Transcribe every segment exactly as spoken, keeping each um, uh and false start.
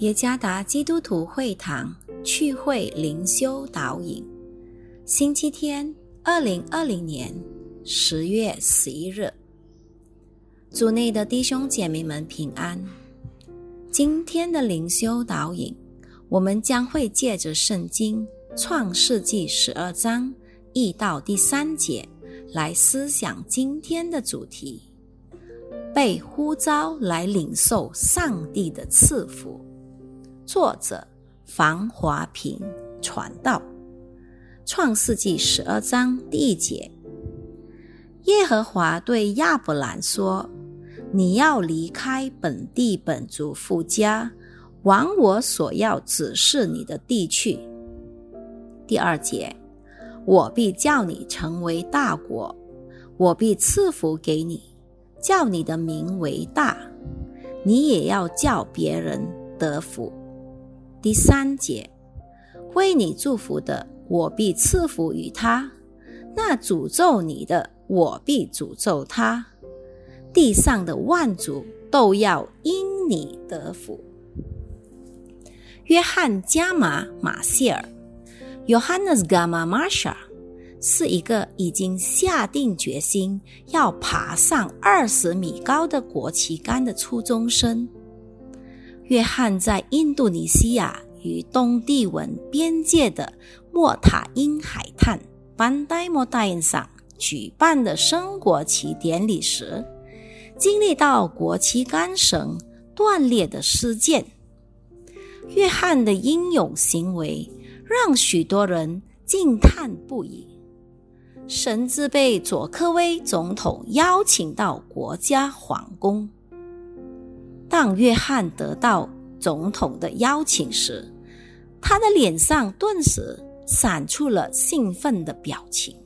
耶加达基督徒会堂趣会灵修导引，星期天，二零二零年十月十一日。主内的弟兄姐妹们平安。今天的灵修导引，我们将会借着圣经创世纪十二章一到第三节来思想今天的主题，被呼召来领受上帝的赐福。作者房华平传道。创世纪十二章第一节，耶和华对亚伯兰说，你要离开本地本族父家，往我所要指示你的地去。第二节，我必叫你成为大国，我必赐福给你，叫你的名为大，你也要叫别人得福。第三节，为你祝福的，我必赐福于他；那诅咒你的，我必诅咒他。地上的万族都要因你得福。约翰加马马谢尔 Johannes Gamma Marsha 是一个已经下定决心要爬上二十米高的国旗杆的初中生。约翰在印度尼西亚与东帝汶边界的莫塔因海滩班代莫大上举办的升国旗典礼时，经历到国旗杆绳断裂的事件。约翰的英勇行为让许多人惊叹不已，甚至被佐科威总统邀请到国家皇宫。当约翰得到总统的邀请时，他的脸上顿时闪出了兴奋的表情。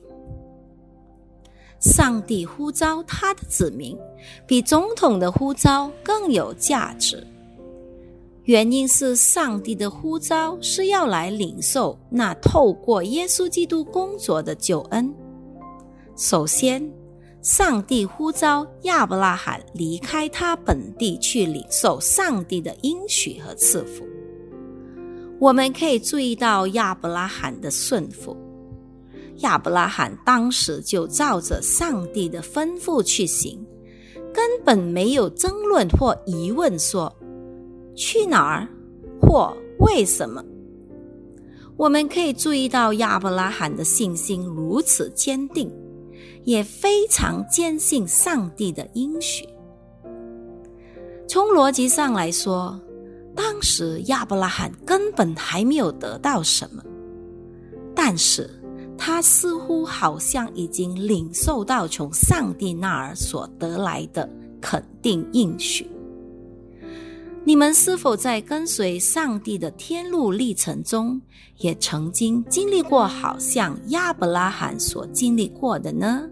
上帝呼召他的子民，比总统的呼召更有价值。原因是上帝的呼召是要来领受那透过耶稣基督工作的救恩。首先，上帝呼召亚伯拉罕离开他本地去领受上帝的应许和赐福。我们可以注意到亚伯拉罕的顺服。亚伯拉罕当时就照着上帝的吩咐去行，根本没有争论或疑问说去哪儿或为什么。我们可以注意到亚伯拉罕的信心如此坚定，也非常坚信上帝的应许。从逻辑上来说，当时亚伯拉罕根本还没有得到什么，但是他似乎好像已经领受到从上帝那儿所得来的肯定应许。你们是否在跟随上帝的天路历程中，也曾经经历过好像亚伯拉罕所经历过的呢？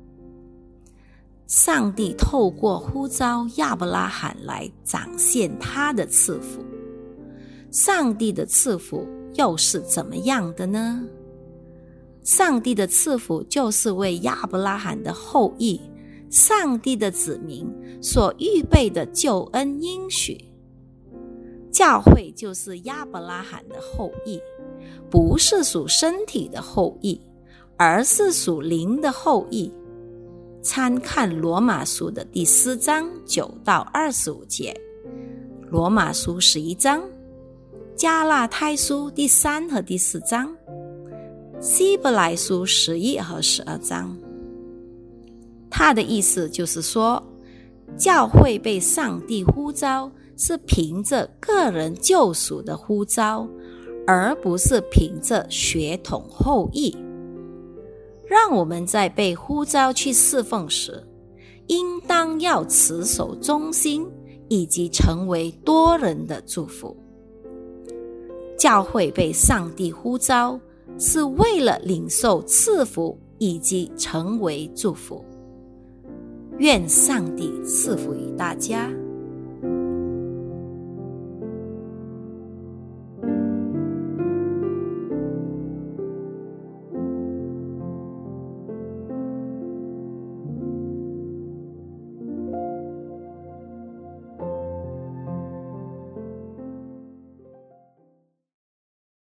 上帝透过呼召亚伯拉罕来展现他的赐福。上帝的赐福又是怎么样的呢？上帝的赐福就是为亚伯拉罕的后裔，上帝的子民所预备的救恩应许。教会就是亚伯拉罕的后裔，不是属身体的后裔，而是属灵的后裔。参看罗马书的第四章九到二十五节，罗马书十一章，加拉太书第三和第四章，希伯来书十一和十二章。他的意思就是说，教会被上帝呼召是凭着个人救赎的呼召，而不是凭着血统后裔。让我们在被呼召去侍奉时，应当要持守忠心，以及成为多人的祝福。教会被上帝呼召是为了领受赐福以及成为祝福。愿上帝赐福于大家。